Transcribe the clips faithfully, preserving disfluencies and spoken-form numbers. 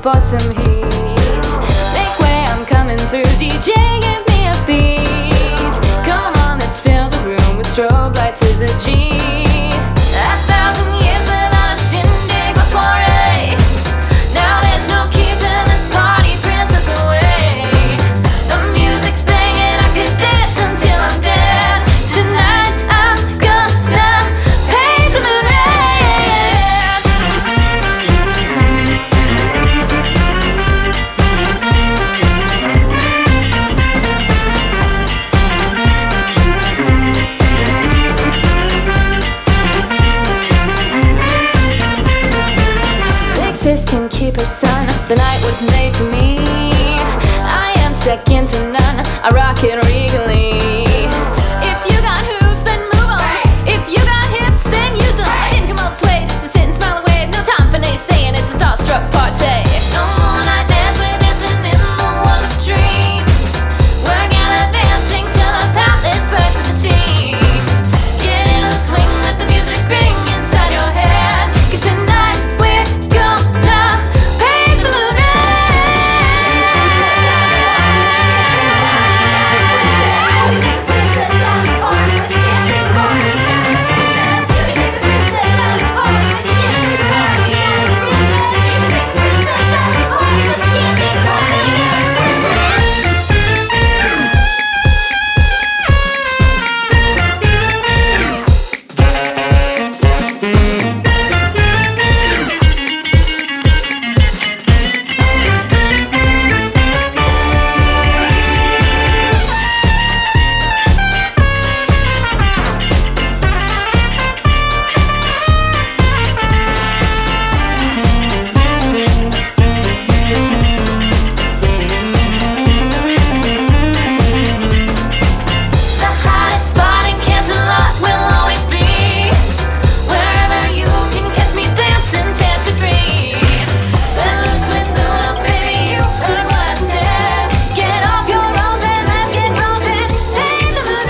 for some heat. Make way, I'm coming through. D J, give me a beat. Come on, let's fill the room with strobe lights as a G. A thousand years without a shindig or soiree. Now there's no keeping this party princess away. The music's banging, I could dance until I'm dead. Tonight I'm gonna paint the moon red. Big sis can keep her son. The night was made for me. I am second to none. I rock it regally. If you got hooves, then move on. If you got hips, then use them. I didn't come all this way just to sit and smile away. No time for naysaying, it's a starstruck party. No more night dance, we're dancing in the world of dreams. We're gallivanting till our palace bursts with the seams. Get in the swing, let the music ring inside your head. 'Cause tonight we're gonna paint the moon red. The hottest spot in Canterlot will always be wherever you can catch me dancing past the green. Let loose with Luna, baby, you heard what I said. Get off your roll and let's get bumping. Paint the moon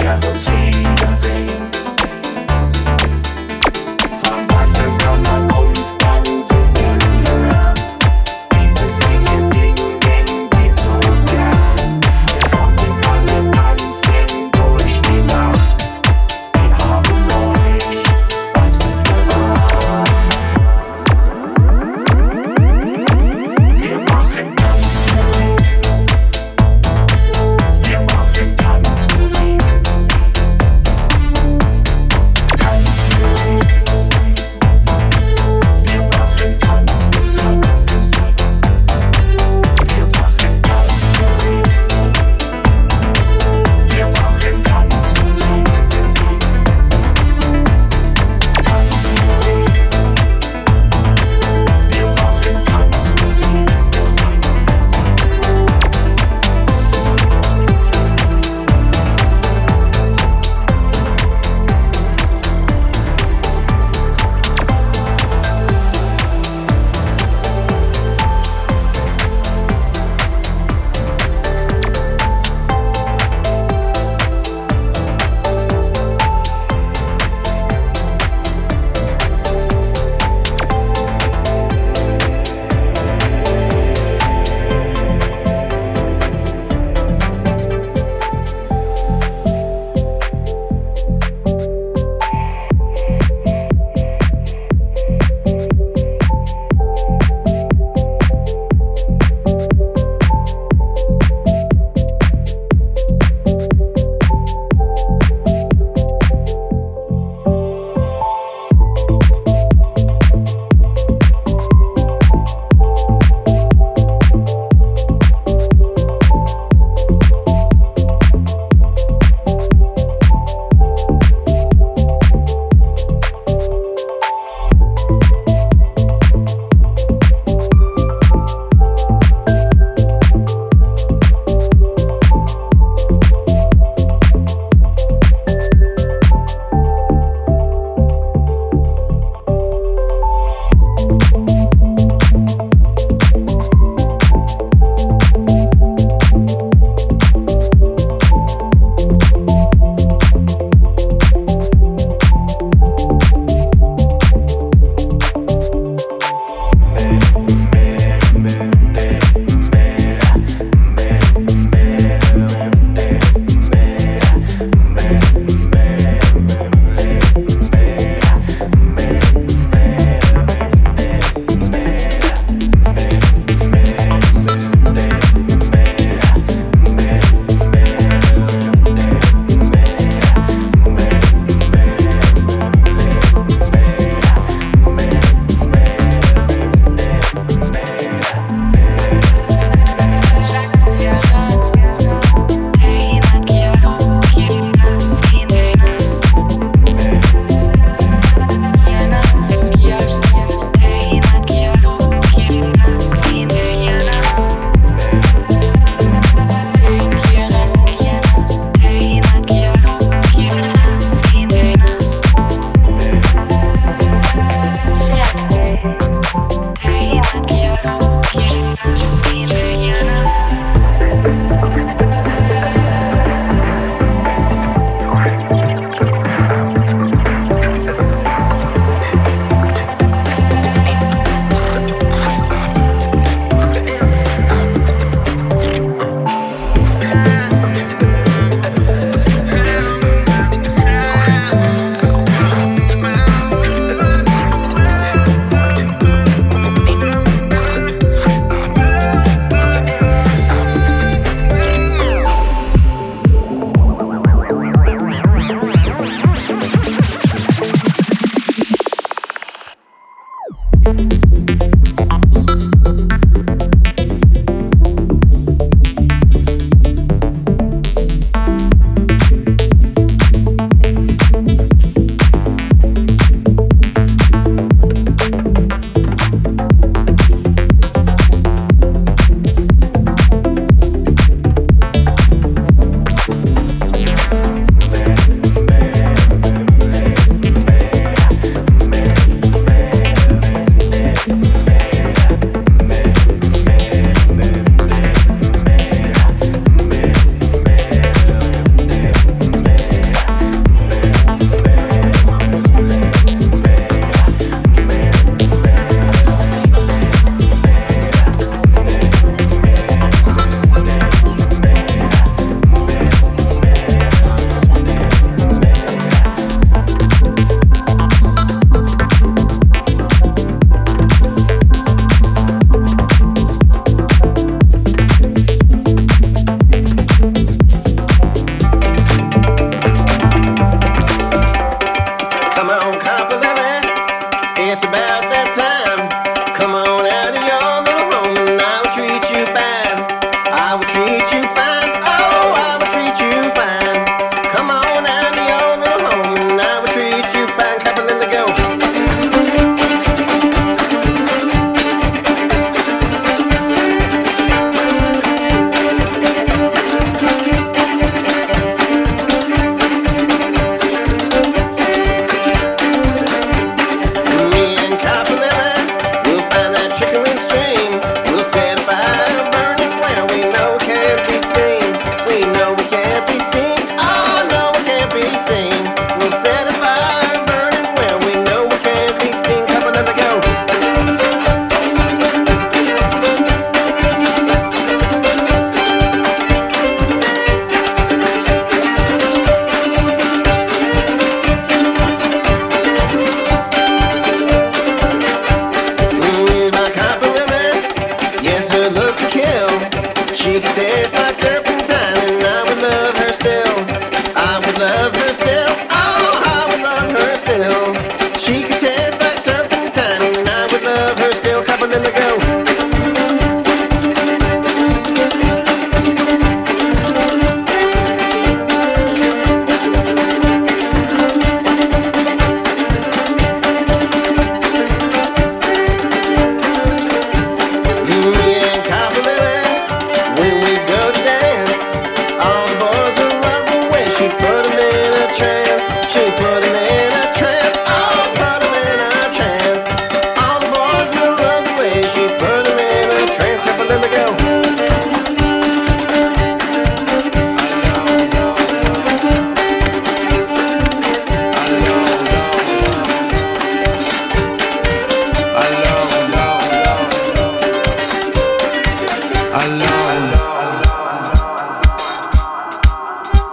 werden uns wiedersehen. Von weitem kann man uns dann singen hören. Dieses Lied hier singen wir so gern. Wir wollen alle tanzen durch die Nacht. Wir haben euch was mitgebracht. Wir machen Tanzmusik. Wir machen Tanzmusik.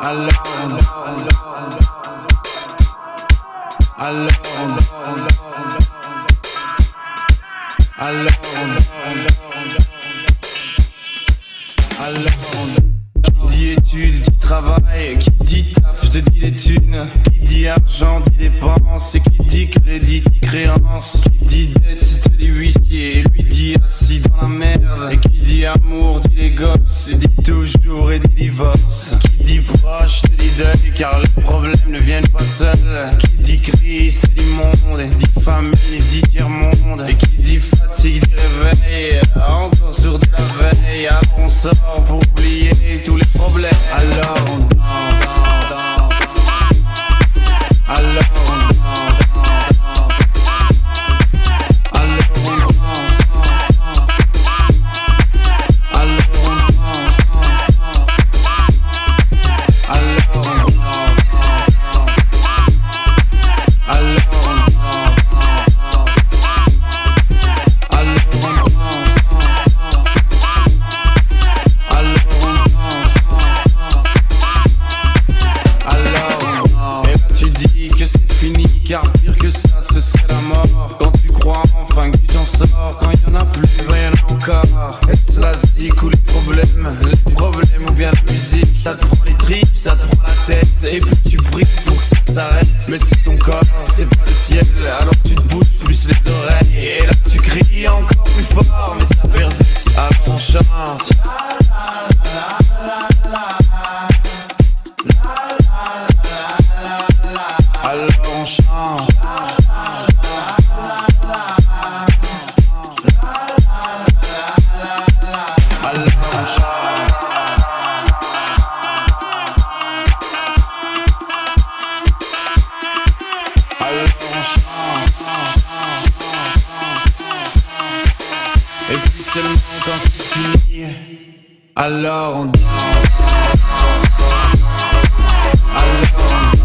Alors, alors, alors, alors, qui dit études dit travail, qui dit taf te dit les thunes, qui dit argent dit dépenses, et qui dit crédit dit créance, qui dit dette te dit huissier, et lui dit assis dans la merde, et qui dit amour dit les gosses, dit toujours et dit divorce, qui dit proche te dit deuil car les problèmes ne viennent pas seuls, qui dit crise te dit monde, et dit famine dit tiers-monde, et qui dit fatigue dit réveil, encore sur de la veille, alors on sort pour oublier tous les problèmes, alors on danse, alors on danse, alors on danse, alors on danse, alors on danse, alors on danse, alors on danse, alors et là tu dis que c'est fini, car pire que ça ce serait la mort. Quand tu crois enfin que tu t'en sors, quand il y en a plus, ben y en a encore. Est-ce l'asdique ou les problèmes, les problèmes ou bien la musique, ça te prend les tripes, ça te prend la tête, et puis tu pries pour que ça s'arrête. Mais c'est ton corps, c'est pas le ciel, alors tu te bouges plus les oreilles, et là tu cries encore plus fort, mais ça persiste. Alors on chante. Alors on chante. Alors on chante. Alors on chante. Et puis seulement quand c'est fini, alors on danse. Alors on danse.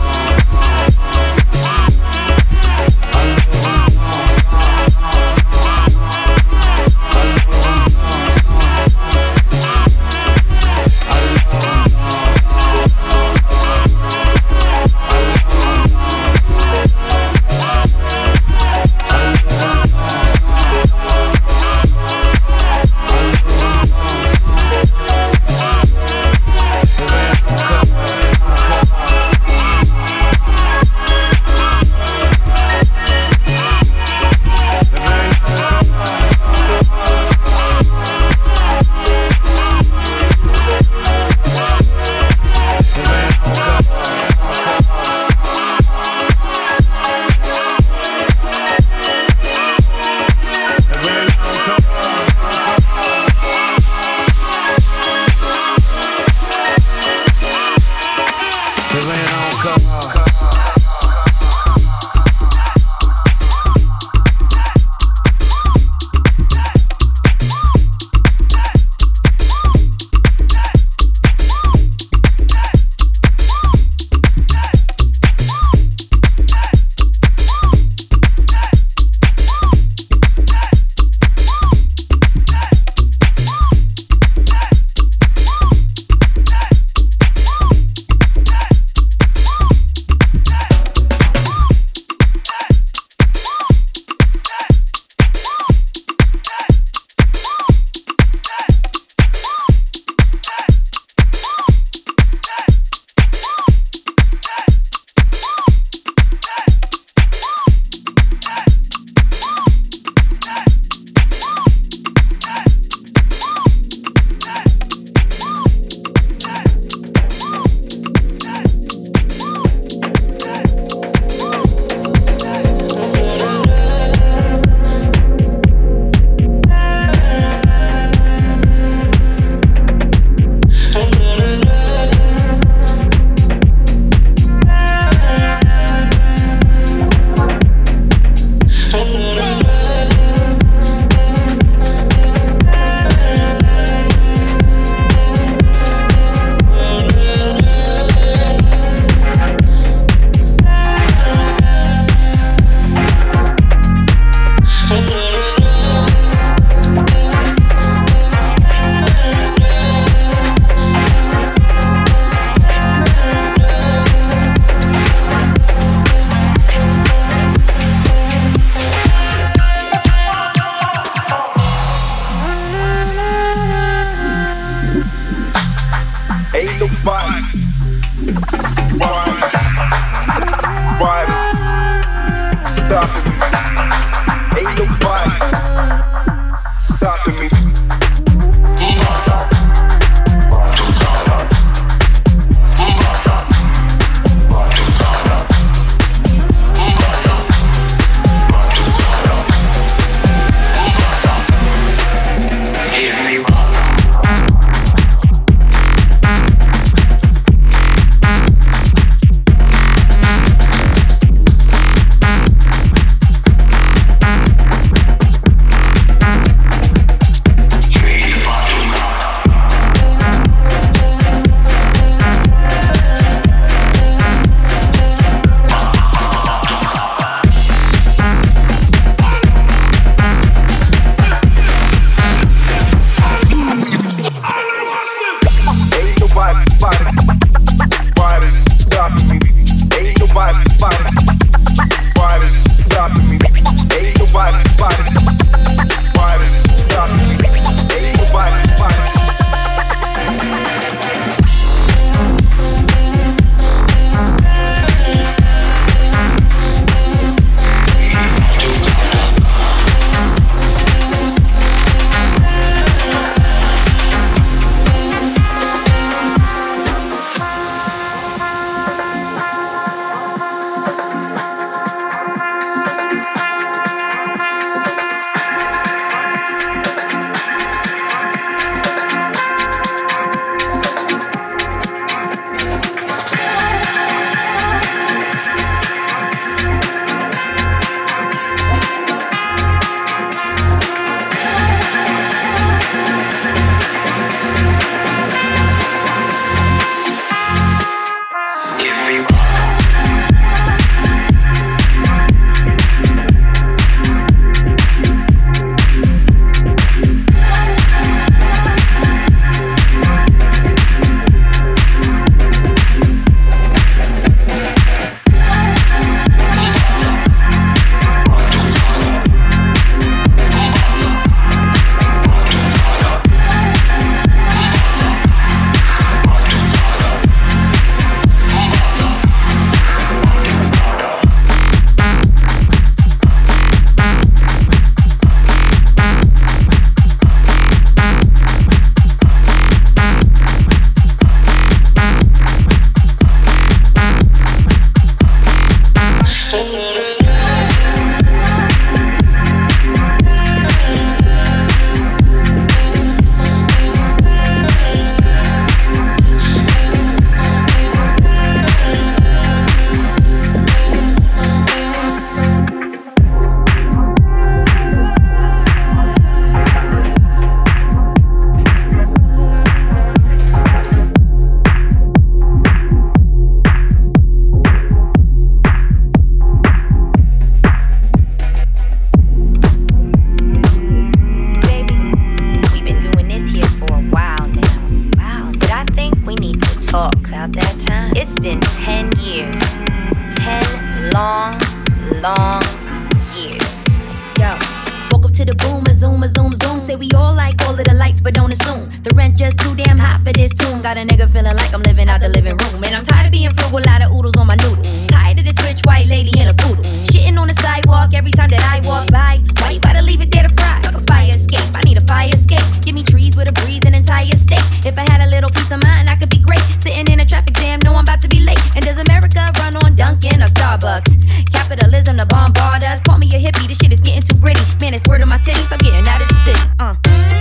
long years. Yo, woke up to the boom, a zoom, a zoom, zoom. Say we all like all of the lights, but don't assume the rent just too damn hot for this tune. Got a nigga feeling like I'm living out the living room. And I'm tired of being frugal, lot of oodles on my noodle. Tired of this rich white lady in a poodle, shitting on the sidewalk every time that I walk by. Why you gotta leave it there to fry? Like a fire escape, I need a fire escape. Give me trees with a breeze, an entire state. If I had a little piece of mind, I could be great. Sitting in a traffic jam, know I'm about to be late. And does America run on Dunkin' or Starbucks? Capitalism to bombard us. Call me a hippie, this shit is getting too gritty. Man, it's word on my titties, I'm getting out of the city. Uh.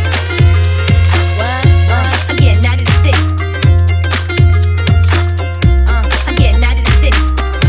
What? Uh, I'm getting out of the city. Uh, I'm getting out of the city.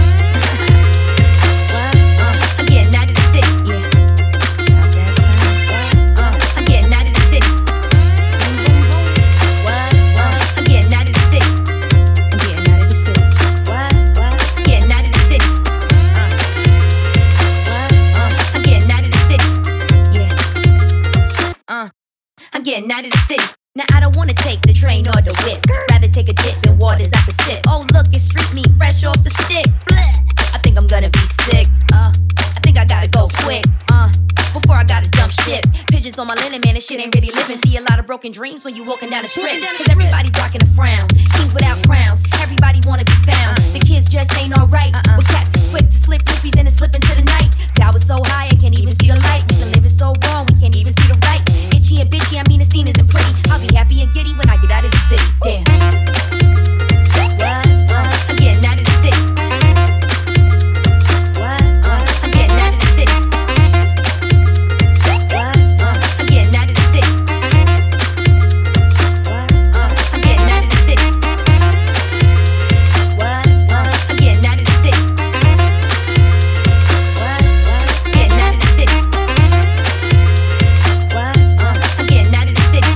What? Uh, I'm getting out of the city. Yeah. About that time. What? Uh, I'm getting out of the city. Zoom, zoom, zoom. What? Uh, I'm getting out of the city. I'm getting out of the city. What? What? I'm getting out of the city. Uh. What? Uh, I'm getting out of the city. Yeah. Uh. I'm getting out of the city. Now I don't wanna take the train or the whip. Rather take a dip in waters I can sip. Oh look, it's street meat fresh off the stick. Blech. I think I'm gonna be sick. Uh, I think I gotta go quick. Uh, before I gotta jump ship. Pigeons on my linen, man, this shit ain't really living. See a lot of broken dreams when you walking down the strip. Cause everybody rocking a frown. Kings without crowns. Everybody wanna be found. The just ain't alright. Uh-uh. With cats is quick to slip roofies and to slip into the night. Tower so high I can't even see the light. We been living so wrong we can't even see the right. Itchy and bitchy, I mean the scene isn't pretty. I'll be happy and giddy when I get out of the city. Damn. What? Uh, I'm getting out of the city. What? Uh, I'm getting out of the city. What? Uh, I'm getting out of the city. What? Uh, I'm getting out of the city. What? Uh, I'm getting out of the city. What? Uh, I'm getting out of the city. What? Uh, I'm getting out of the city.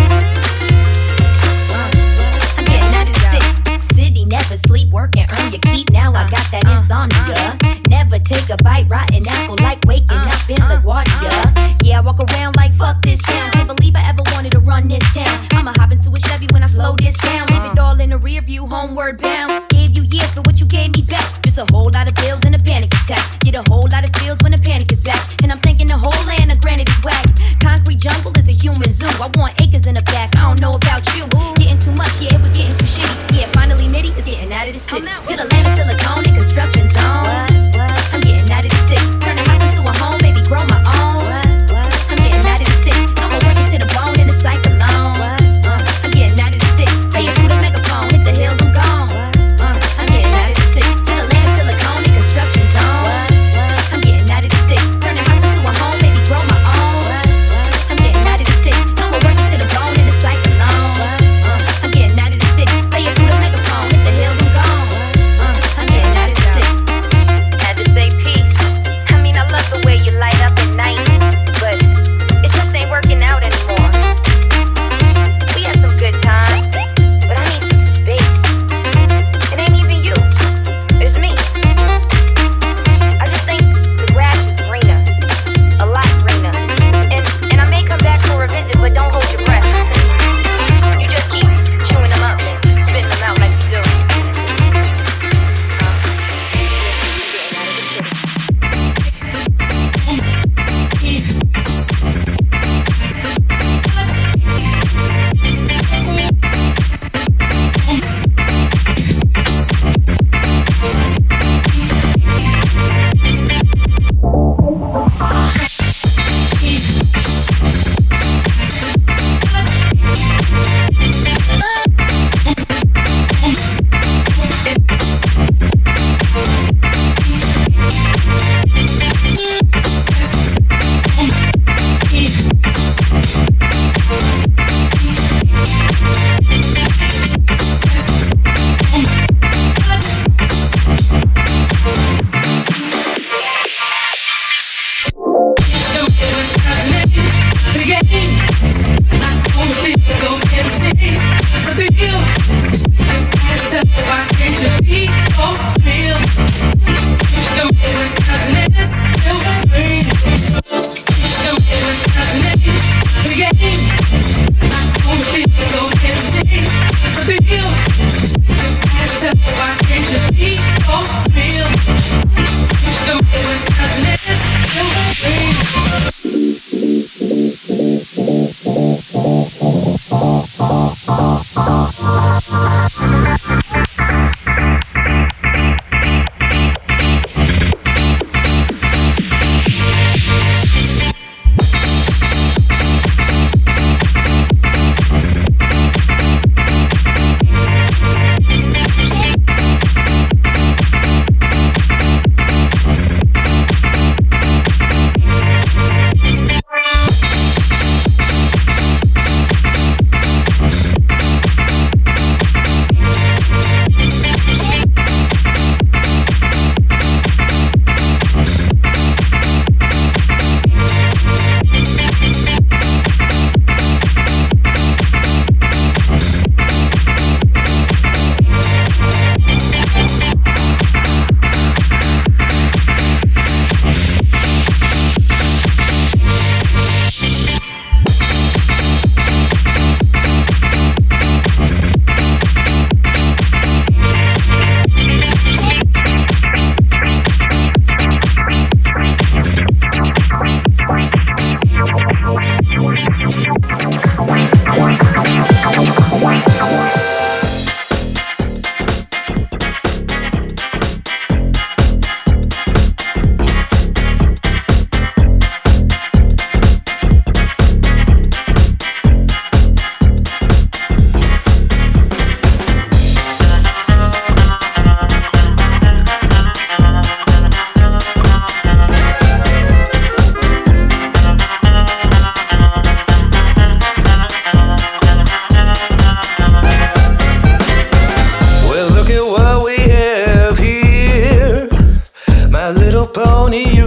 Uh, I'm getting out of the city. City, never sleep, work and earn your keep. Now I got that insomnia. Never take a bite, rotten apple like waking up in LaGuardia. Yeah, I walk around like fuck this town. Can't believe I ever wanted to run this town. I'ma hop into a Chevy when I slow this down. Leave it all in the rear view, homeward bound. Gave you years, but what you gave me back? Just a whole lot of bills and a panic attack. Get a whole lot of feels when the panic is back. And I'm thinking the whole land of granite is whack. Concrete jungle is a human zoo. I want acres in the back, I don't know about you. Getting too much, yeah, it was getting too shitty. Yeah, finally Nitty is getting out of the city. To the land of silicone and construction zone. I'm getting out of the city. Turn the house into a home, maybe grow my own. I'm getting out of the city. I'ma work it to the bone in the cyclone. Uh, I'm getting out of the city. Say it through the megaphone, hit the hills, I'm gone. Uh, I'm getting out of the city. To the land of silicone and construction zone. I'm getting out of the city. Turn the house into a home, maybe grow my own. I'm getting out of the city. I'ma work it to the bone in the cyclone. Uh, I'm getting out of the city. Say it through the megaphone, hit the hills, I'm gone. Uh, I'm getting out of the city. Had to say peace. I mean, I love the way you light up at night, but it just ain't working out anymore. We had some good times, but I need some space. It ain't even you, it's me. I just think the grass is greener, a lot greener. And and I may come back for a visit, but don't hold your breath. You just keep chewing them up and spitting them out like you do.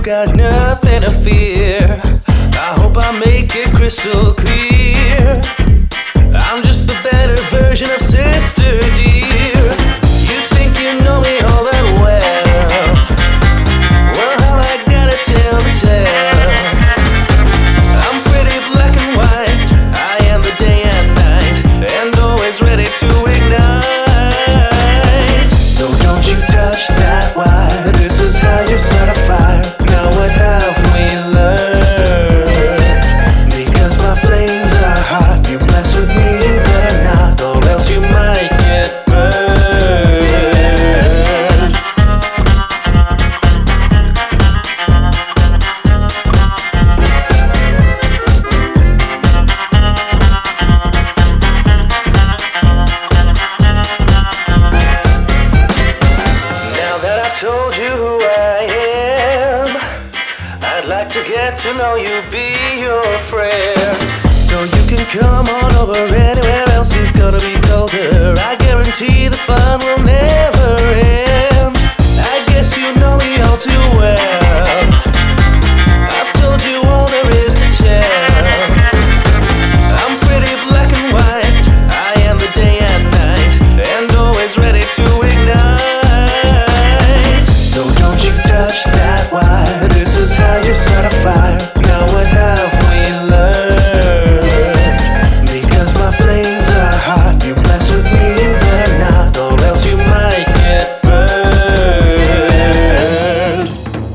got nothing to fear. I hope I make it crystal clear. I'm just a better version of sister dear. You think you know me all that well. Well, how I gotta tell the tale. I'm pretty black and white. I am the day and night, and always ready to ignite. So don't you touch that wire. This is how you start a fire. Now what have we learned? Because my flames are hot. You mess with me, you better not, or else you might get burned. Now that I've told you who I am, I'd like to get to know you, be your friend. So you can come on over, anywhere else is gonna be colder. I guarantee the fun will never end. I guess you know me all too well. I've told you all there is to tell. I'm pretty black and white. I am the day and night, and always ready to ignite. So don't you touch that wire. This is how you start a fire. Now what have we learned? Because my flames are hot. You mess with me, you better not, or else you might get burned.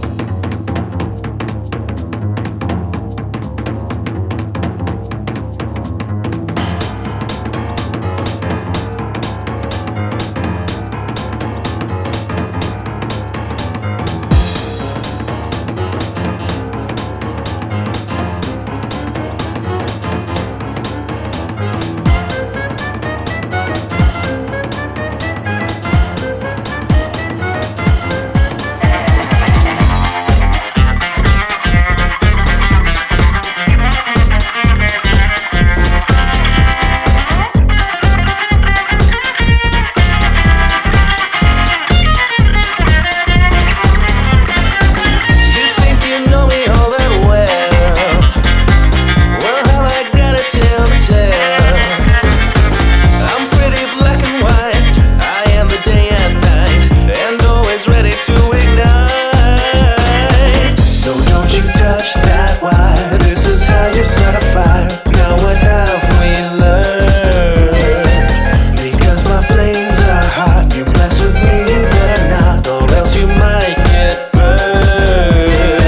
You think you know me all that well. Well, how I gotta tell the tale. I'm pretty black and white. I am the day and night, and always ready to ignite. So don't you touch that wire. This is how you start a fire. Now what have we learned? Because my flames are hot. You mess with me, you better not, or else you might get burned.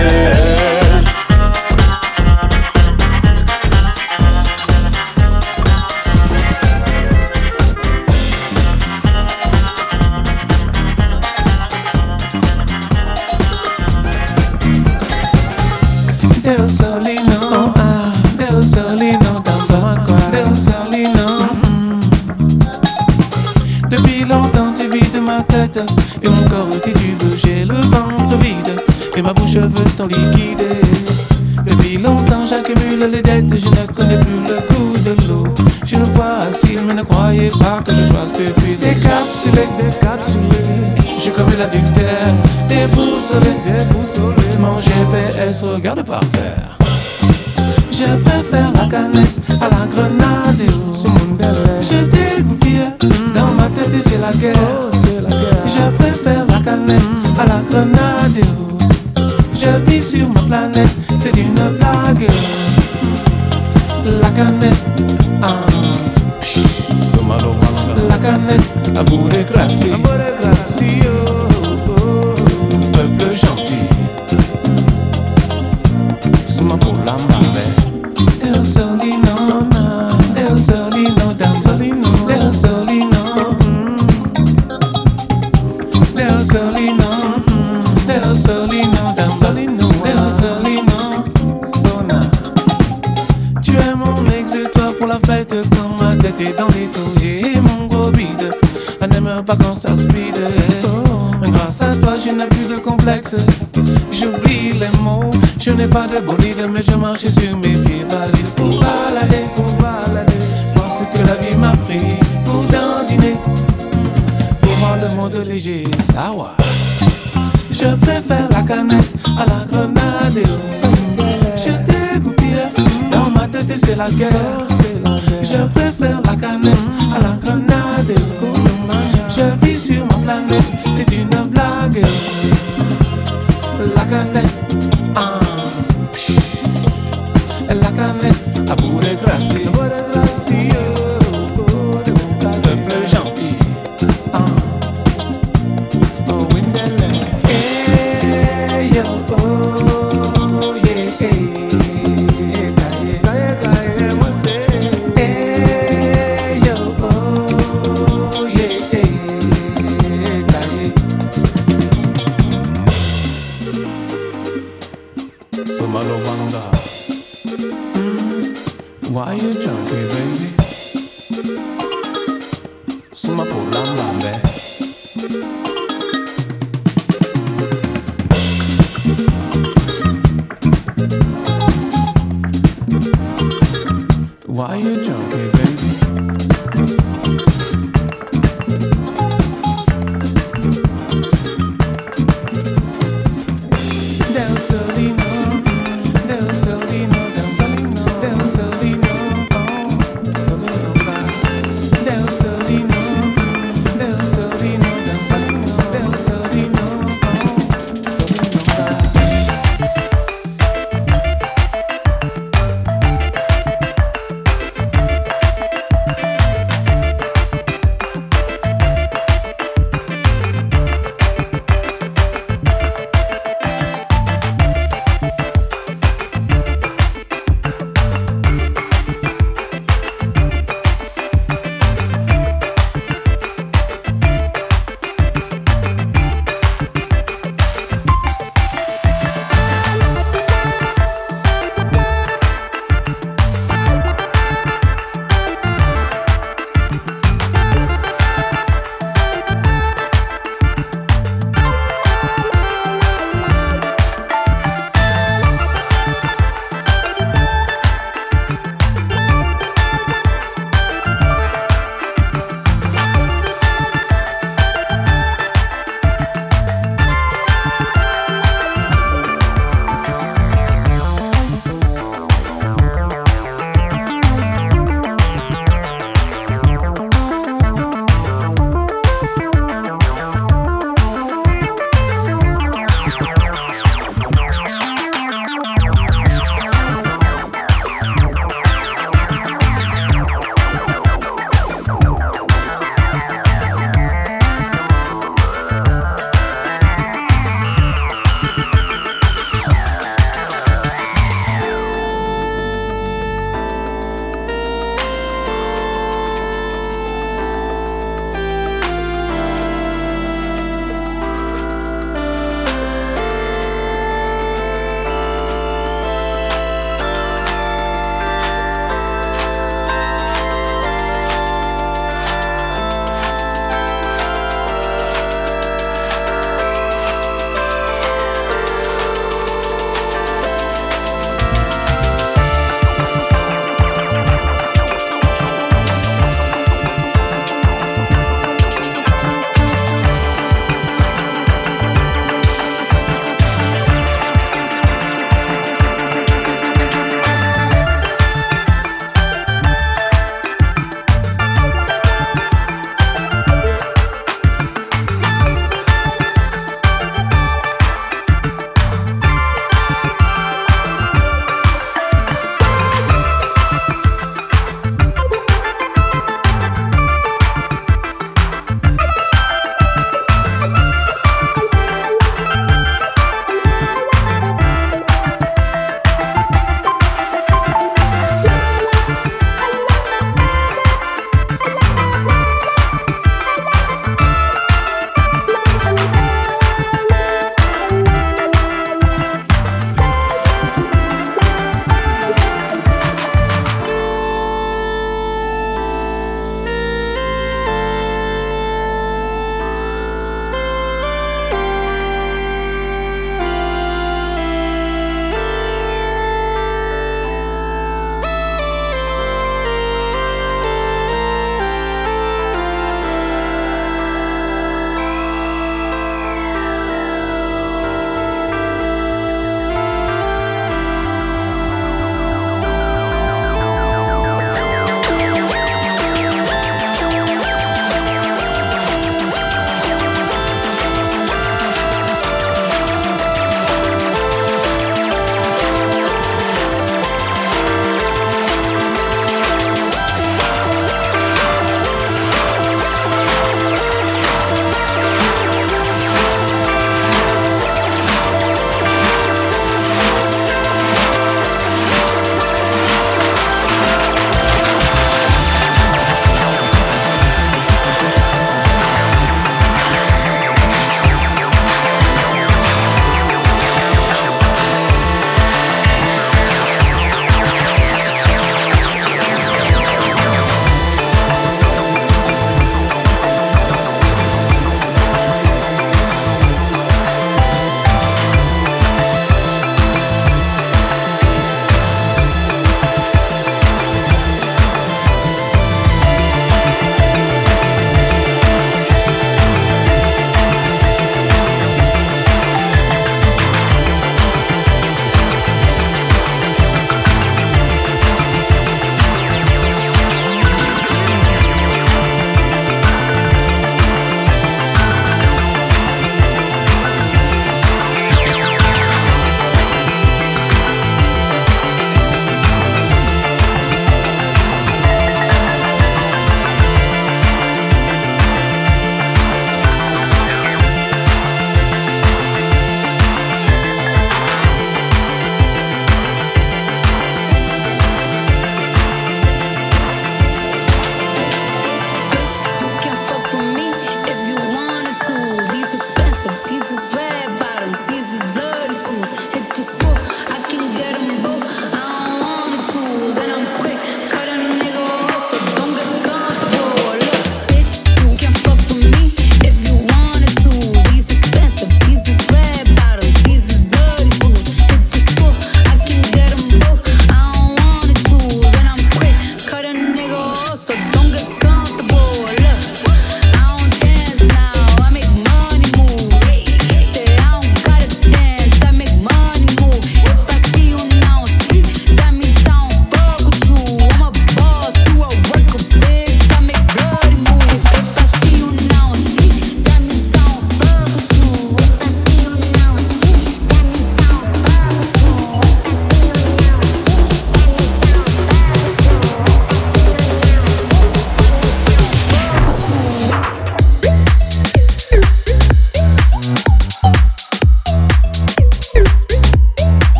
Del Solino, ah, Del Solino dans un coin. Del Solino. Depuis longtemps tu vides ma tête et mon corps titube, j'ai le ventre vide et ma bouche veut t'en liquider. Depuis longtemps j'accumule les dettes, je ne connais plus le goût de l'eau. Je me vois assis, mais ne croyez pas que je sois stupide. Décapsulé, décapsulé, je commets l'adultère, déboussolé, déboussolé. Mon G P S regarde par terre. Je préfère la canette à la grenade. Je dégoupille dans ma tête et c'est la guerre. Je préfère la canette à la grenade. Je vis sur ma planète, c'est une blague. La canette, ah, psh, la canette à bout de gracie. Peuple gentil, c'est ma pour la marée. Del Solino, Del Solino, Del Solino, Del Solino, Del Solino, Del Solino, Del Solino, Del Solino, Sona. Tu es mon exutoire pour la fête quand ma tête est dans les taux et mon gros bide. Elle n'aime pas quand ça speed. Grâce à toi je n'ai plus de complexe. J'oublie les mots, je n'ai pas de bolide, mais je marche sur mes pieds valides pour balader, pour balader. Parce que la vie m'a pris pour dandiner, pour voir le monde léger, ça va. Je préfère la canette à la grenade. Je dégoupille dans ma tête et c'est la guerre. Je préfère la canette à la grenade. Je vis sur ma planète, c'est une blague. La canette, ah, psh, la canette à bout de gracie, peuple gentil. Ah. Oh, Windele. Hey, yo, oh, yeah, hey, kaye, kaye, kaye, moi c'est. Hey, yo, oh, yeah, hey, kaye. Somalo Wanda. Why you jumping, baby? Suma Polambe. Why you jumping, baby? Del Solino, Del Solino, Del Solino, Del Solino, oh.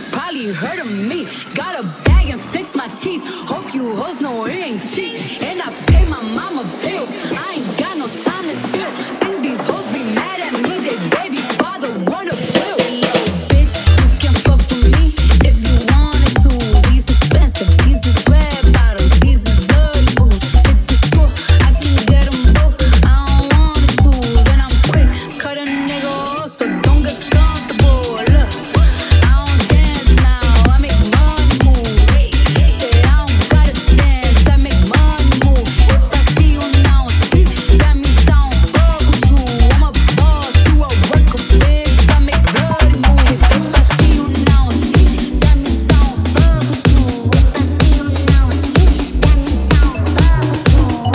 probably heard of me. Got a bag and fix my teeth. Hope you hoes know it ain't cheap. And I pay my mama bills. I ain't got no time to chill. Think these hoes be mad at me. They baby father wanna bill. Yo, bitch, you can fuck with me if you wanted to. These expensive, these is red bottoms, these is bloody shoes. Hit the store, I can get them both. I don't wanna choose. And I'm quick, cut a nigga off, so don't get comfortable. Look, I don't dance now, I make money move. Say I don't gotta dance, I make money move. If I see you now speak, that means I don't fuck with you. I'm a boss, you a worker, bitch, I make bloody moves. If I see you now speak, that means I don't fuck with you. If I see you now speak, that means I don't fuck with you. If I see you now speak, that means I don't fuck with you.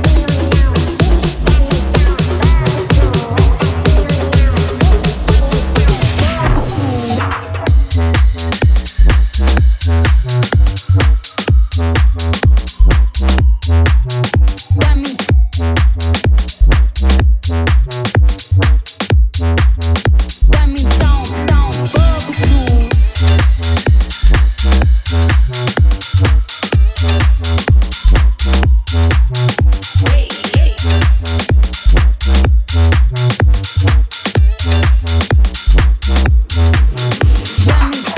That means that means I don't, don't fuck with you. That means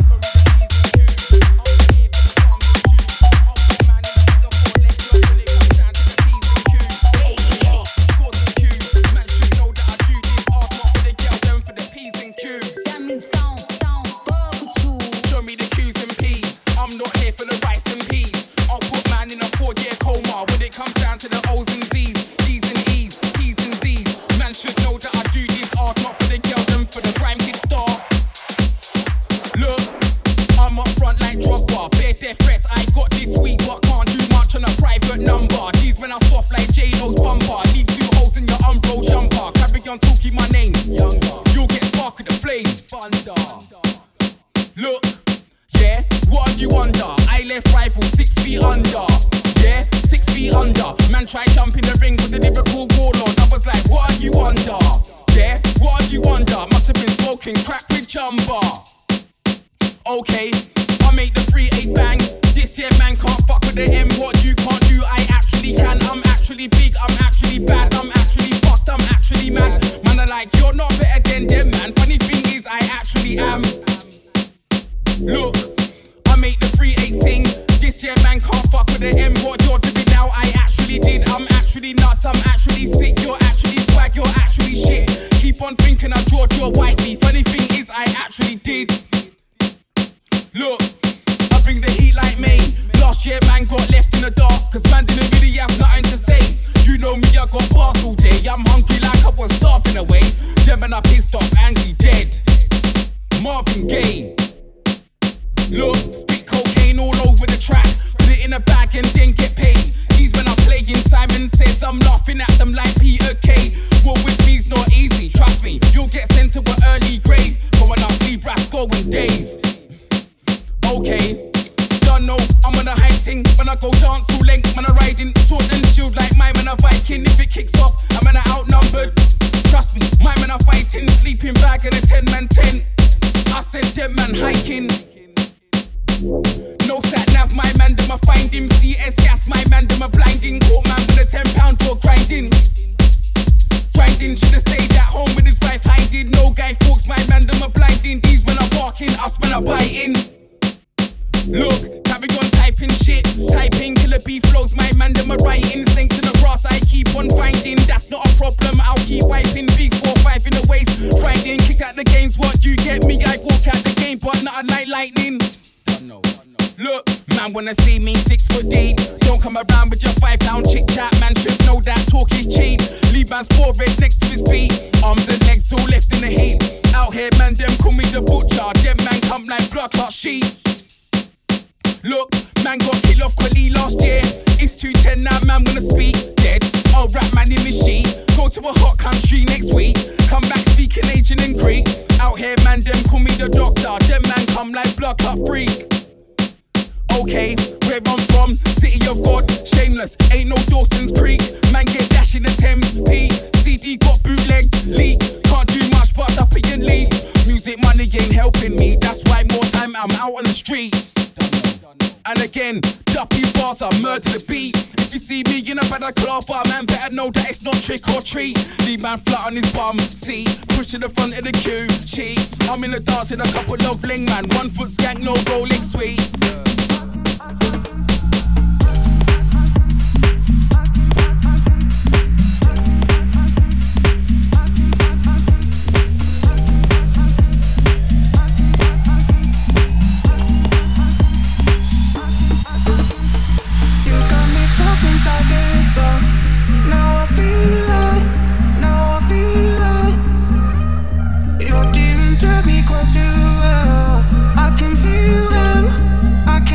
that means I don't, don't fuck with you. Show me the Q's and P's. I'm not here for the rice and peas. I'll put man in a four-year coma when it comes down to the O's and Z's, D's and E's, P's and Z's. Man should know that I do this art not for the girl, them for the grime kid star. Look, I'm up front like Drogba. Bare death threats I got this week, but can't do much on a private number. These men are soft like J-Lo's bumper. Leave two holes in your Umbro jumper. Carry on talking my name. Younger. You'll get spark with the flame. Thunder. Look, yeah, what are you under? I left rival six feet under. Yeah, six feet under. Man try jump in the ring with the lyrical warlord. I was like, what are you under? Yeah, what are you under? Must have been smoking crack with Jumba. Okay, I make the three eight bang. This year man can't fuck with the M. What you can't do, I actually can. I'm actually big, I'm actually bad, I'm actually fucked, I'm actually mad. Man are like, you're not better than them, man. Funny thing is, I actually am. Look, I make the three eight sing. This year man can't fuck with the M. What you're doing now, I actually did. I'm actually nuts, I'm actually sick. You're actually swag, you're actually shit. Keep on thinking I drawed your white me. Funny thing is, I actually did. Look, I bring the heat like me. Last year man got left in the dark, cause man didn't really have nothing to say. You know me, I got bars all day. I'm hungry like I was starving away. Them and I pissed off, angry, dead. Marvin Gaye. Look, spit cocaine all over the track. Put it in a bag and then get paid. These men are playing, Simon says I'm laughing at them like Peter Kay. What with me's not easy, trust me. You'll get sent to an early grave. Going up see Brasco and Dave. Okay, don't know, I'm on a high thing. When I go dance too length, man I riding sword and shield like my man a Viking. If it kicks off, I'm man a outnumbered. Trust me, my man a fighting. Sleeping bag in a ten man tent. I said dead man hiking. No sat nav, my man them a find him. C S gas, my man them a blinding. Caught man with a ten pound draw grinding. Grinding, should've stayed at home with his wife hiding. No guy folks, my man them a blinding. These men are barking, us men are biting. Look, carry on typing shit. Typing killer beef flows, my man them a writing. Snakes in the grass, I keep on finding. That's not a problem, I'll keep wiping. Big four five in the waist. Friday, kicked out the games, what you get me? I walk out the game, but not a night lightning. Look, man wanna see me six foot deep. Don't come around with your five pound chit chat. Man should know that talk is cheap. Leave man's forehead next to his feet. Arms and legs all left in the heat. Out here man them call me the butcher. Them man come like blood clot sheep. Look, man got killed off Quali last year. It's two ten now, man wanna speak. Dead, I'll rap man in the sheet. Go to a hot country next week. Come back speaking Asian and Greek. Out here man them call me the doctor. Them man come like blood clot freak. Okay, where I'm from, city of God, shameless, ain't no Dawson's Creek. Man get dash in the Thames, P, C D got bootleg, leak. Can't do much but up and leave. Music money ain't helping me, that's why more time I'm out on the streets. And again, duppy bars, I murder the beat. If you see me in a better cloth, man, better know that it's not trick or treat. Leave man flat on his bum, see, push to the front of the queue, cheat. I'm in the dance with a couple of fling man, one foot skank, no rolling sweet. Your demons drag me close to hell. I can feel them, I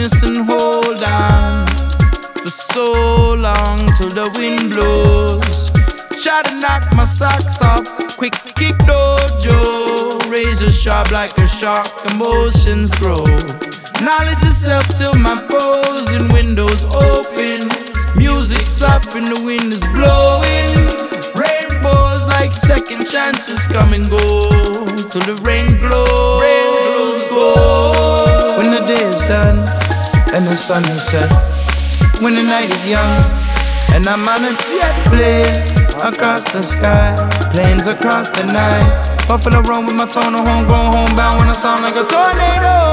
promise and hold on for so long till the wind blows. Try to knock my socks off, quick kick dojo. Razor sharp like a shark, emotions grow. Knowledge itself till my frozen windows open. Music's up and the wind is blowing. Rainbows like second chances come and go till the rain glows. Rain go. When the day is done and the sun is set, when the night is young and I'm on a jet plane across the sky, planes across the night. Buffalo run with my tone of home, going homebound when I sound like a tornado.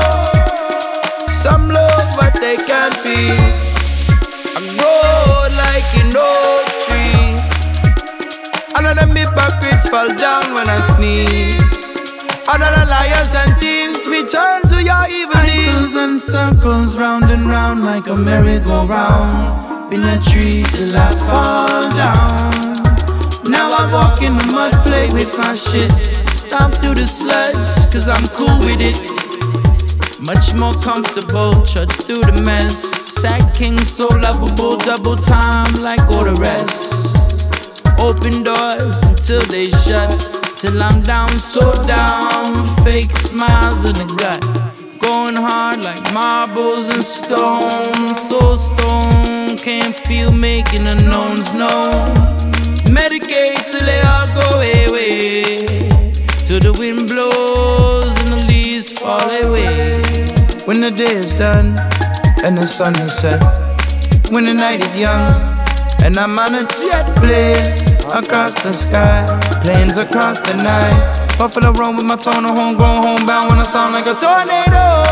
Some love but they can't be. I grow like an oak tree. Another hypocrites fall down when I sneeze. Another liars and thieves return to your evil deeds. Cycles and circles round and round like a merry-go-round. Been a tree till I fall down. Now I walk in the mud, play with my shit. Stomp through the sludge, cause I'm cool with it. Much more comfortable, trudge through the mess. Sack king, so lovable, double time like all the rest. Open doors until they shut, till I'm down, so down. Fake smiles in the gut, going hard like marbles and stone. So stone, can't feel making the knowns known. Medicate till they all go away, till the wind blows and the leaves fall away. When the day is done and the sun is set, when the night is young and I'm on a jet plane across the sky, planes across the night. Buffalo run with my tone of home, going homebound when I sound like a tornado.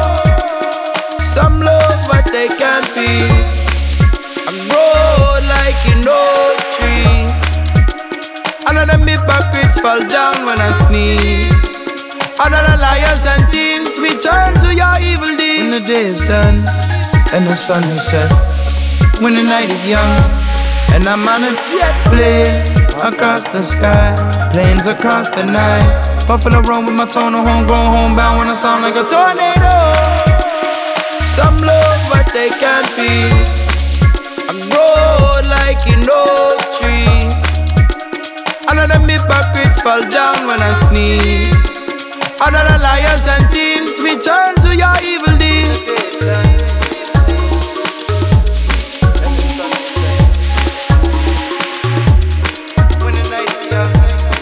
Some love but they can't be. I grow like an oak tree. Another hypocrites fall down when I sneeze. Another liars and thieves return to your evil deeds. When the day is done and the sun is set, when the night is young and I'm on a jet plane across the sky, planes across the night. Buffalo run with my tone of home, going homebound when I sound like a tornado. Some love but they can't be. I grow like an oak tree. Another hypocrites fall down when I sneeze. Another liars and thieves return to your evil deeds. When the night is young,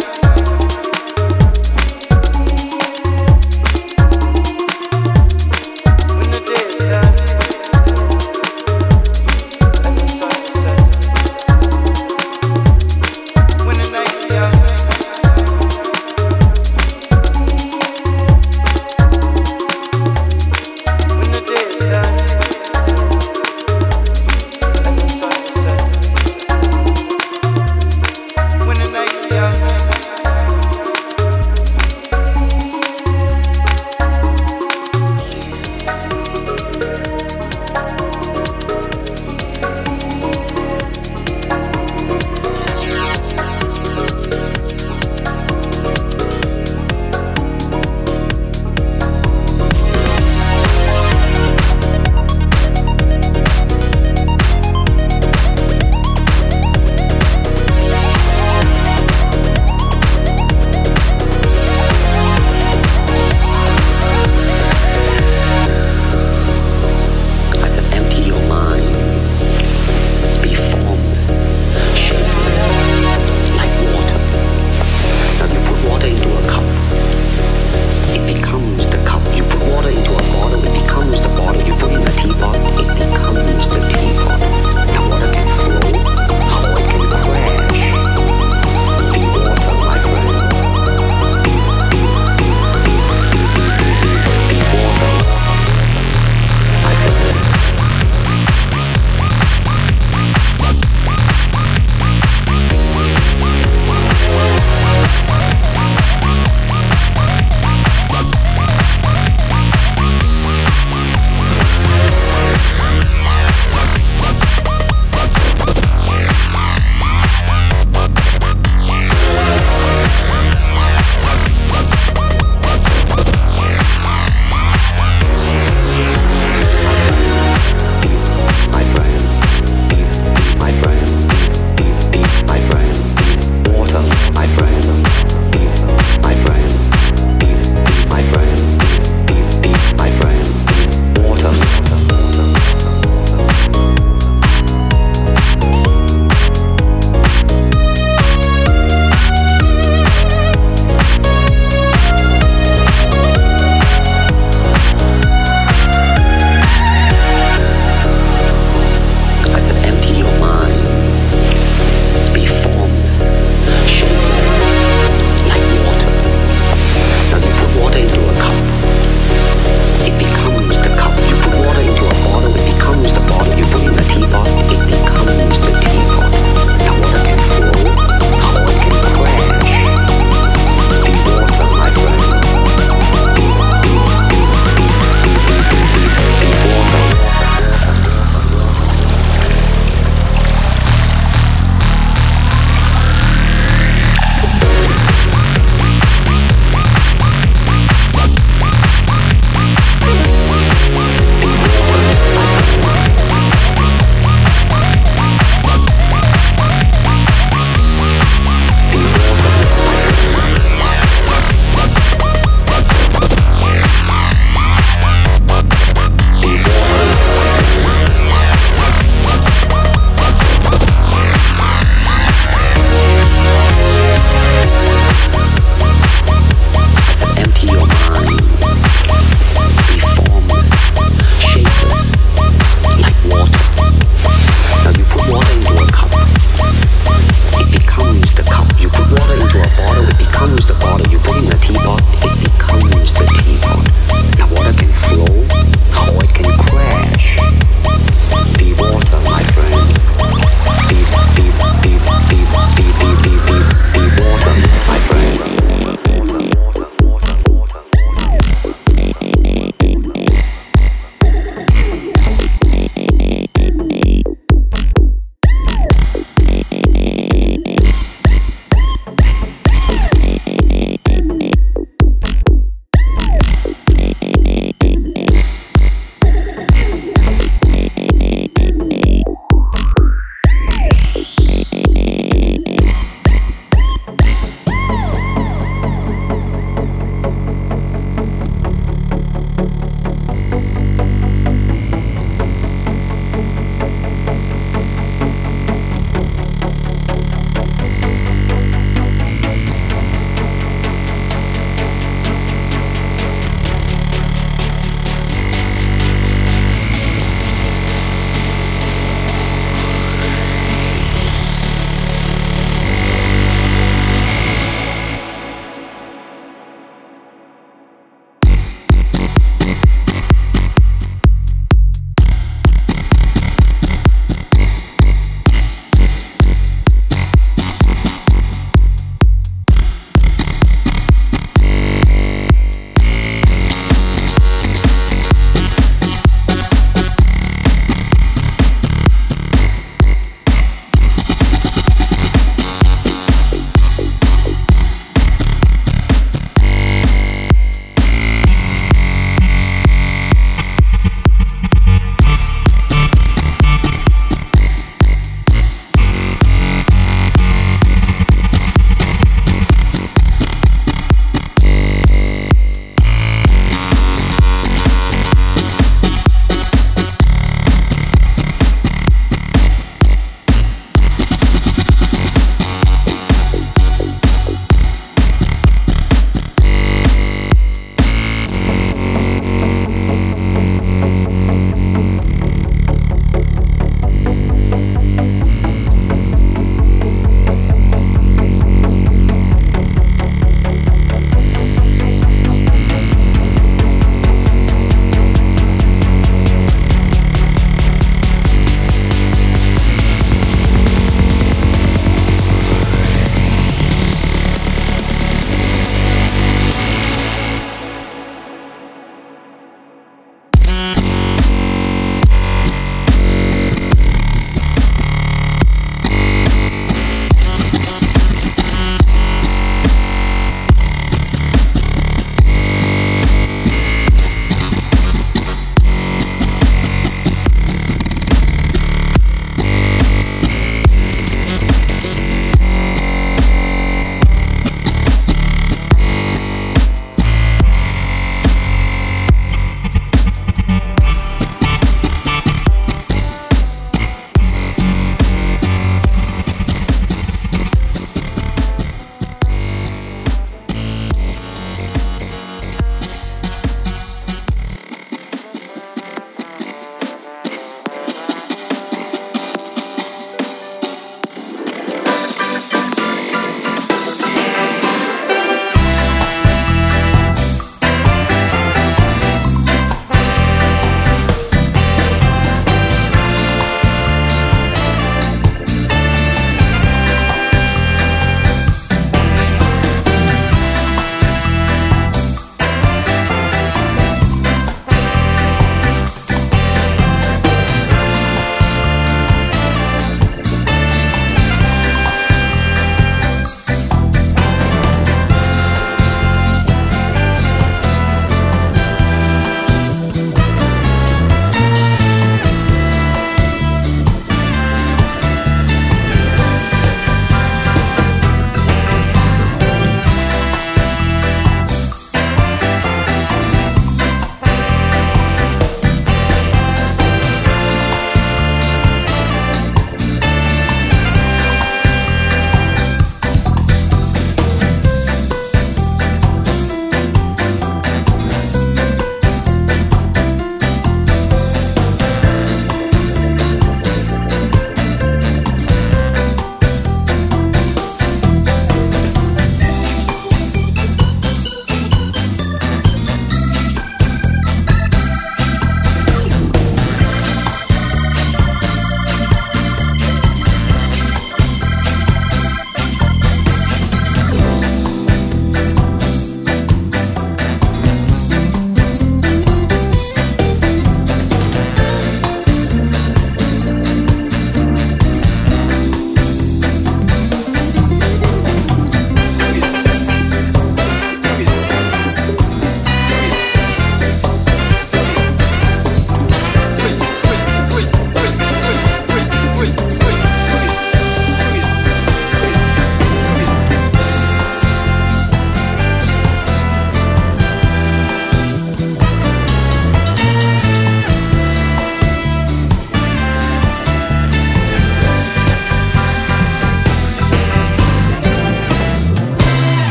when the day is done, and the sun is set, when the night is young.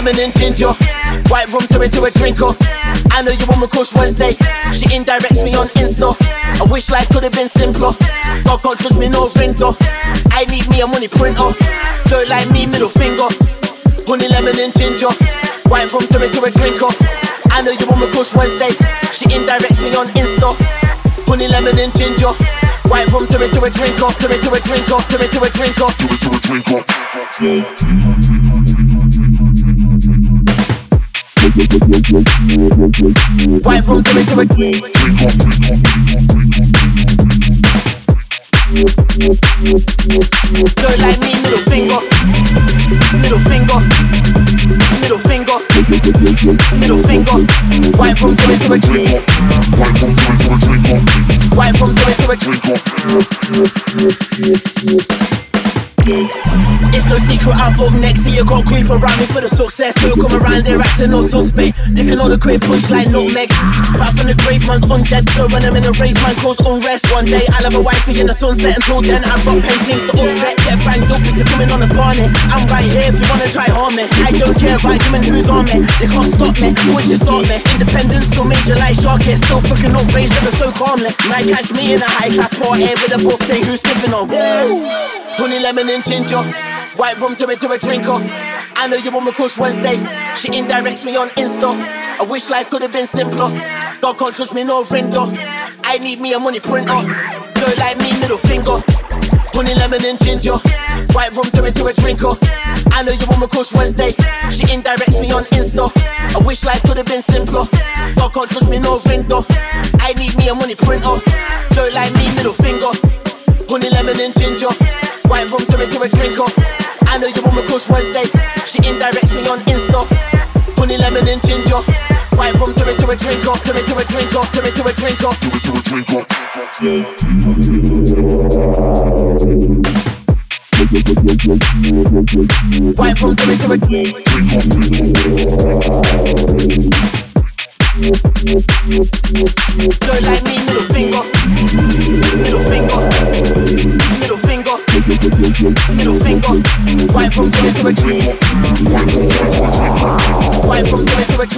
lemon and ginger. White rum to it to a drinker. I know you want me Kush Wednesday. She indirects me on Insta. I wish life could have been simpler. God can't trust me, no window. I need me a money printer. Girl like me, middle finger. Honey, lemon and ginger. White rum to it to a drinker. I know you want me Kush Wednesday. She indirects me on Insta. Honey, lemon and ginger. White rum to it to a drinker. To it to a drinker. To it to a drinker. To it to a drinker. White rum to it to a drinker. Girl like me, middle finger. Middle finger. Middle finger. Middle finger. White rum to it to a drinker. White rum to it to a drinker. It's no secret I'm up next. See you gon' creep around me for the success. We'll come around there acting no suspect. They can all the great punch like nutmeg. Back from the grave man's undead. So when I'm in a rave man cause unrest. One day I'll have a wifey in the sunset. Until then I've got paintings to upset. Get banged up if you're coming on the barney. I'm right here if you wanna try harm me. I don't care about you and who's on me. They can't stop me, once you stop me. Independence still major like Sharky. Still fucking up rage ever so calmly. Might catch me in a high class party with a buff thing who's sniffing on. Honey, lemon and ginger. White rum to it to a drinker. I know you want me Kush Wednesday. She indirects me on Insta. I wish life could have been simpler. God can't trust me, no window. I need me a money printer. Girl like me, middle finger. Honey, lemon and ginger. White rum to it to a drinker. I know you want me Kush Wednesday. She indirects me on Insta. I wish life could have been simpler. God can't trust me, no window. I need me a money printer. Girl like me, middle finger. Honey, lemon and ginger. White rum to it to a drinker. I know you want me Kush Wednesday. She indirects me on Insta. Honey, lemon and ginger. White rum to it to a drinker. To it to a drinker. To it to a drinker. To it to a drinker. White rum to it to a drinker. Girl like me, middle finger. Middle finger. Middle finger. Middle finger. White rum to it to a drinker. White rum to it to a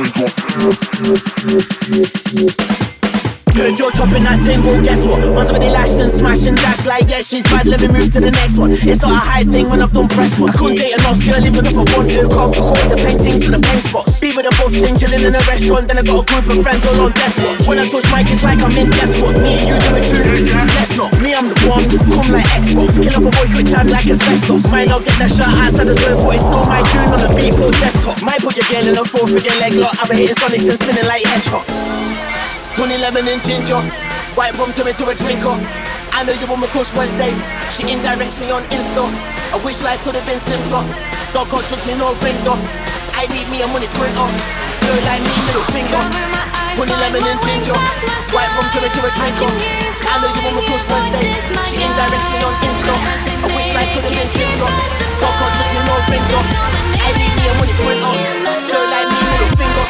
drinker. Heard you're chopping that thing, well guess what? Once somebody lashed and smashed and dashed like yeah she's bad, let me move to the next one. It's not a high thing when I've done press one. I couldn't date a lost girl even if I want to. Can't record the paintings to the paint spots. Be with a buff thing chilling in a restaurant. Then I got a group of friends all on death watch. When I touch mic it's like I'm in guess what? Me and you do it true, let's not. Me I'm the one, come like Xbox. Kill off a boy quick time like asbestos. Might not get that shot outside the serve, but it's still my tune on the beat called desktop. Might put your girl in a four figure leg lock. I've been hitting sonics and spinning like hedgehog. Honey, lemon and ginger. White rum to it to a drinker. I know you want me Kush Wednesday. She indirects me on Insta. I wish life could have been simpler. God can't trust me, no window. I need me a money printer. Girl like me, middle finger. Honey, lemon and ginger. White rum to it to a drinker. I know you want me Kush Wednesday. She indirects me on Insta. I wish life could have been simpler. God can't trust me, no window. I need me a money printer. Girl like me, middle finger.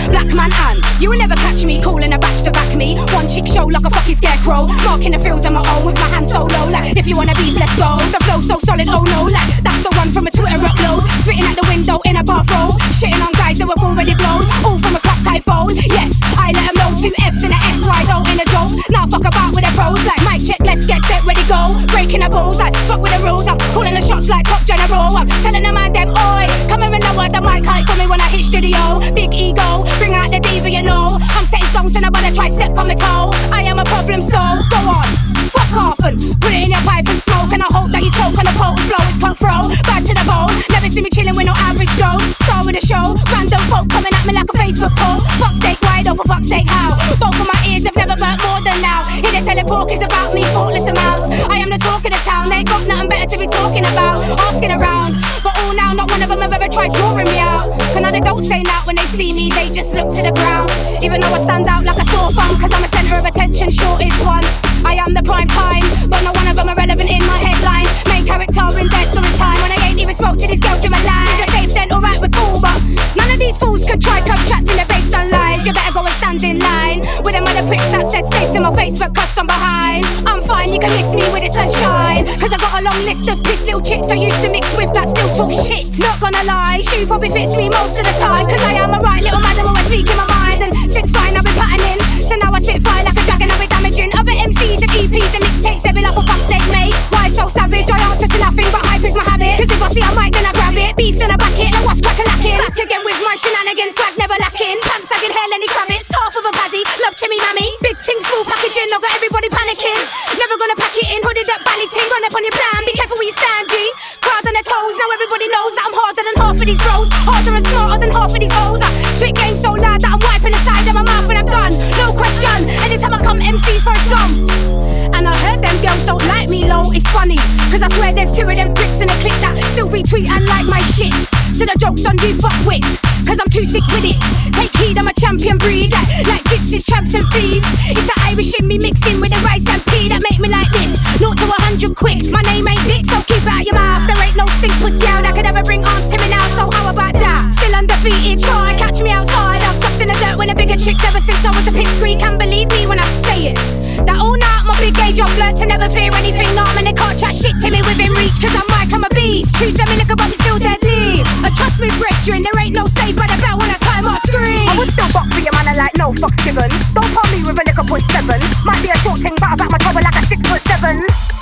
Black man and you will never catch me calling a batch to back me. One chick show like a fucking scarecrow, marking the fields on my own with my hands so low. Like if you wanna beef, let's go. The flow so solid, oh no, like that's the one from a Twitter upload. Spitting at the window in a bathrobe, shitting on guys that were already blown. All from a clock type phone. Yes, I let them know. Two F's and a S, right though in a joke. Now fuck about with the pros. Like mic check, let's get set, ready go. Breaking the balls, like fuck with the rules. I'm calling the shots like top general. I'm telling them man them, oi, come here and know what the mic hype for me when I hit studio. Big ego, bring out the diva, you know. I'm setting songs and I wanna try step on my toe. I am a problem, so go on. Fuck off and put it in your pipe and smoke. And I hope that you choke on the potent flow. It's cutthroat, back to the bone. Never see me chilling with no average Joe. Star with a show, random folk coming at me like a Facebook post. Fuck's sake, why though, for fuck's sake, how? Both of my ears have never burnt more than now. Hear the telepork is about me, thoughtless amounts. I am the talk of the town, they got nothing better to be talking about. Asking around, but all now, not one of them have ever tried drawing me out. Cause now they don't say that when they see me, they just look to the ground. Even though I stand out like a sore thumb, cause I'm a centre of attention, short is one. I am the prime time, but no one of them are relevant in my headlines. Main character in their story time, when I ain't even spoke to these girls in my life. You're safe then, alright, we're cool, but none of these fools could try come chat till they're based on lies. You better go and stand in line with them other pricks that said safe to my face but cuss I'm behind. I'm fine, you can miss me with the sunshine, cause I got a long list of piss little chicks I used to mix with that still talk shit. Not gonna lie, she probably fits me most of the time, cause I am a right little madam, always speaking my mind. And since fine I've been patterning, so now I spit fire like a dragon, I've been damaging other M Cs and E Ps and mixtapes every like a fuck's sake, mate. Why so savage? I answer to nothing but hype is my habit. Cause if I see a mic then I grab it, beef then I back it, and what's crack a lacking. Back again with my shenanigans, swag never lacking. Pants sagging, hair Lenny Kravitz, half of a paddy, love Timmy Mammy. Big ting, small packaging, I got everybody panicking. Never gonna pack it in, hooded up, bally ting, run up on your plan. Be careful where you stand, G. Crowd on their toes, now everybody knows that I'm harder than half of these bros. Harder and smarter than half of these hoes. I spit game so loud that I'm wiping the side of my mouth when I'm done. No question, anytime I come M Cs first gum. And I heard them girls don't like me low, it's funny, cause I swear there's two of them pricks in a clip that still retweet and like my shit. So the joke's on you fuck wit, cause I'm too sick with it. Take heed, I'm a champion breed, like, like gypsies, tramps and thieves. It's the Irish in me mixed in with the rice and pea that make me like this. Naught to a hundred quick, my name ain't Dick, so keep it out your mouth. There ain't no stink puss gal that could ever bring arms to me now, so how about that? Still undefeated, try, catch me outside. I've stuffed in the dirt when the bigger chicks ever since I was a pipsqueak. Can't believe me when I say it, that all night my big age I've learned to never fear anything. Arm and they can't chat shit to me within reach, cause I'm Mike, I'm a beast. True semi liquor but I'm still deadly. And trust me brethren, there ain't no save by the bell when I time I scream. I would still box for your man and like no fuck given. Don't call me with a liquor point seven. Might be a short thing but I back my trouble like a six foot seven.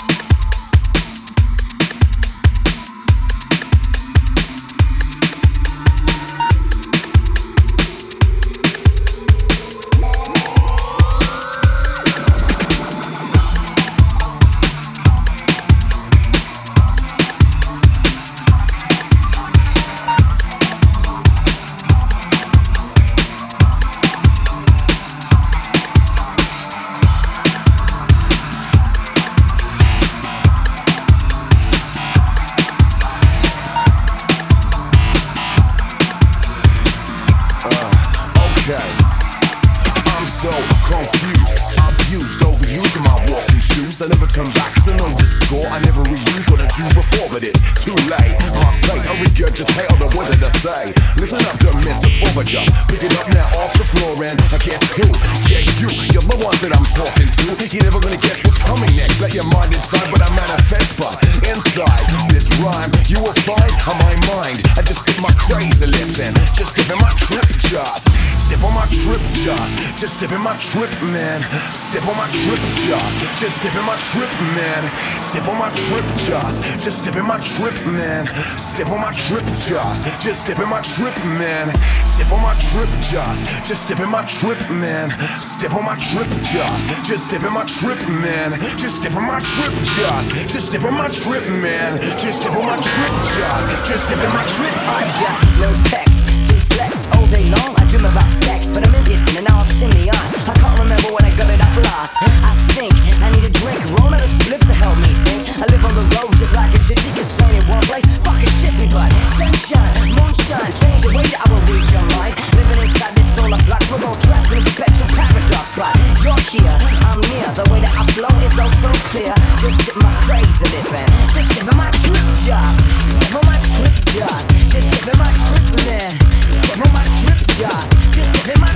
I never turn back to know the score. I never reuse what I do before, but it's too late. My fate, I regurgitate all the words that I say. Listen up, don't miss the former just pick it up now off the floor and I guess who? Yeah, you, you're the ones that I'm talking to. You're never gonna guess what's coming next. Let your mind inside, but I manifest, but inside this rhyme, you will find on my mind. I just sit my crazy lips and just step in my trip just. Step on my trip just. Just step in my trip, man. Step on my trip just. Just step in my trip, man. Step on my trip just. Just step in my trip, man. Step on my trip just. Just step in my trip, man. Step on my trip just. Just step in my trip, man. Step on my trip just. Just step in my trip, man. Just step on my trip just. Just step on my trip, man. Just step on my trip just. Just step in my trip. I've got no text to flex all day long. I dream about sex, but I'm in it and now I've seen the eyes. I can't remember when I got it up last. I stink, I need a drink. Roll out a split to help me think. I live on the road just like a gypsy. Can stay in one place, fucking shit me, but sunshine, moonshine, change the way that I will read your mind. Living inside this solar flux, we're all trapped in a perpetual paradox. But you're here, I'm near. The way that I flow is all so clear. Just sit my crazy living. Just step in my trip, just step on my trip, just just step in my trip, man. Step on my trip, just just step in my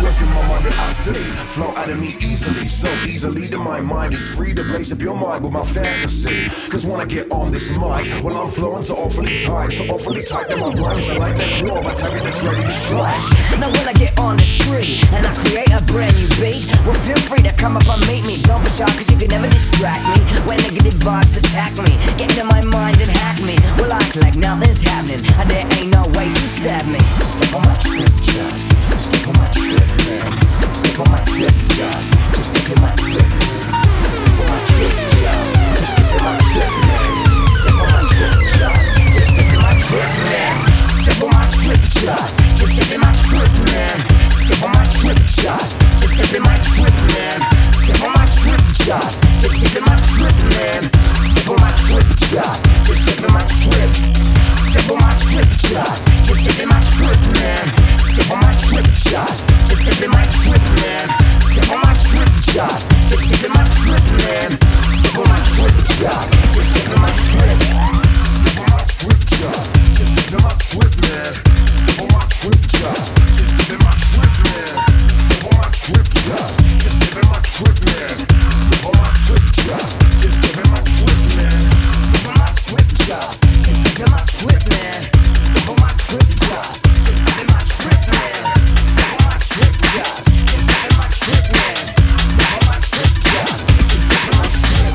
Words in my mind that I see flow out of me easily, so easily that my mind is free to blaze up your mind with my fantasy. Cause when I get on this mic, well I'm flowing so awfully tight, so awfully tight that my rhymes are like that claw of a tiger that's ready to strike. Now when I get on the street and I create a brand new beat, well feel free to come up and meet me. Don't be shy cause you can never distract me when negative vibes attack me. Get into my mind and hack me. Well I act like nothing's happening and there ain't no way to stab me. Step on my trip, just step on my trip, man. Step on my trip, just just step in my trip, man. Step on my trip, just just step in my trip, man. Step on my trip, just just step in my trip, man. Step on my trip, just just step in my trip, man. Step on my trip, just just step in my trip, man. Step on my trip, just just step in my trip, man. Step on my trip, just just step in my trip. Step on my trip, just just step in my trip, man. Step on my trip, just just step in my trip, man. Step on my trip, just just step in my trip, man. Step on my trip, just just step in my trip. Step on my trip, just just step in my trip, man. Step on my trip, just just step in my trip, man. Step on my trip, just just step in my trip, man. Step on my trip, just just step in my trip, man. Step on my trip, just just step in my trip, man. Step on my trip, just just step in my trip, man. Step on my trip, just just step in my trip, man. Step on my trip, just just step in my trip.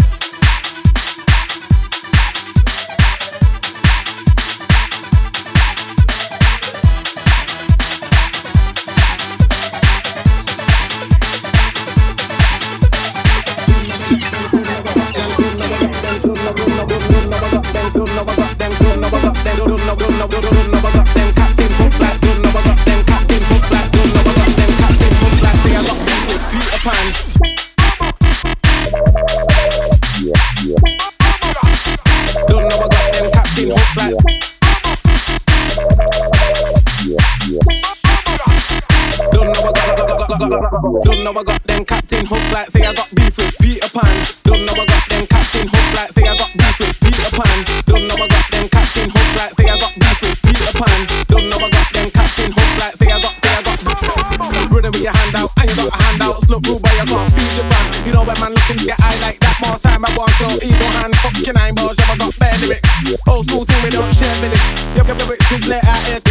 Don't know I got them captain hooks like say I got beef with Peter Pan. Don't know I got them captain hooks like say I got beef with Peter Pan. Don't know I got them captain hooks like say I got beef with Peter Pan. Don't know I got them captain hooks like say I got say I got brother with your hand out and you got a hand out. Slow rule but you can't beat the fan. You know when man look in your eye like that more time I want no ego hand fucking eyeballs. I got bare lyrics. Old school thing we don't share village. Yup yup yup it's let out here.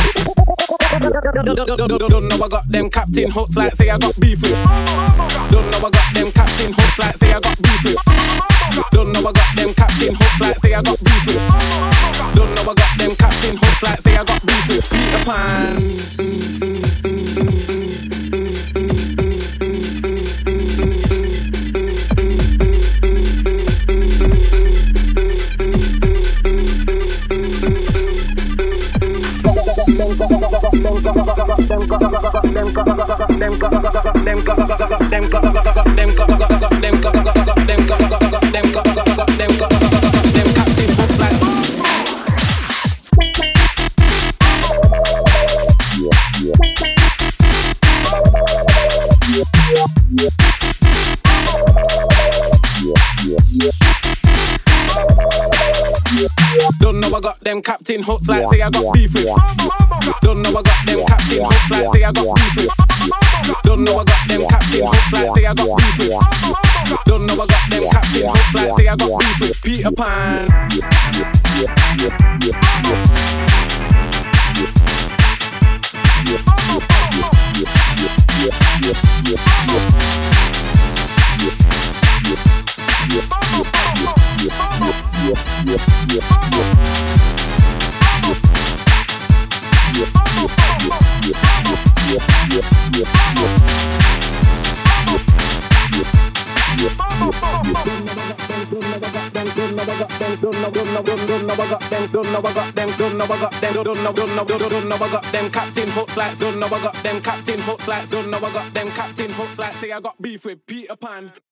Don't know I got them captain hooks like say I got beef with. Don't know I got them captain hooks like say I got beef with. Don't know I got them captain hooks like say I got beef with. Don't know I got them captain hooks like say I got beef with Peter Pan. Don't know I got them captain hooks like say I got beef with. Don't know I got them captain hooks like say I got beef with. Don't know I got them captain hooks like say I got beef with. Don't know I got them captain hooks like say I got beef with Peter Pan. Them captain hooks like, don't know I got them captain hooks like, don't know I got them captain hooks like, say I got beef with Peter Pan.